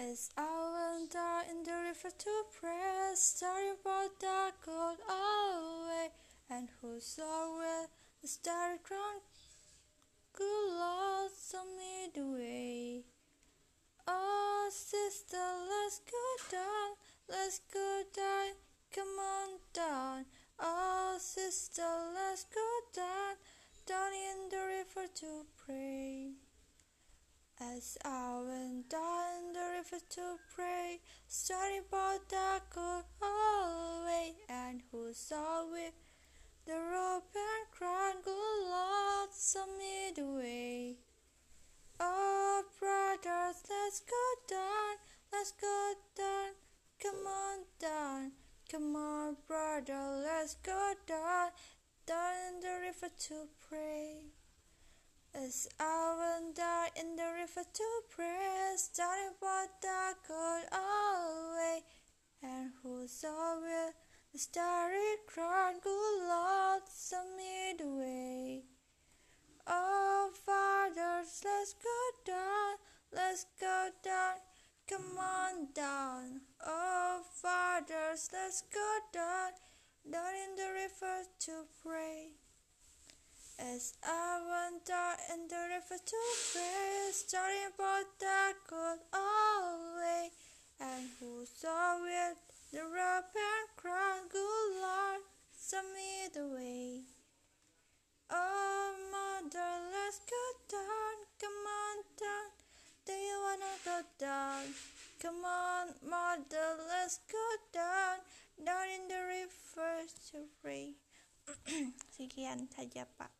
As I went down in the river to pray, starry about the cold away, and who saw where the starry crown good Lord show me the way. Oh sister, let's go down, come on down. Oh sister, let's go down in the river to pray. As I went down the river to pray, starry about the cold away, and who saw with the rope and cried, good Lord, show me the way. Oh brothers, let's go down, come on down. Come on brother, let's go down in the river to pray. As I went down in the river to pray, starting about the cold away, and who saw where the starry crown, good Lord, show me the way. Oh fathers, let's go down, come on down. Oh fathers, let's go down in the river to pray. As I went down in the river to pray, starting about the cold away, and who saw with the rope and crown, good Lord, show me the way. Oh mother, let's go down, come on down. Do you wanna go down? Come on mother, let's go down in the river to pray. Sekian saja Pak.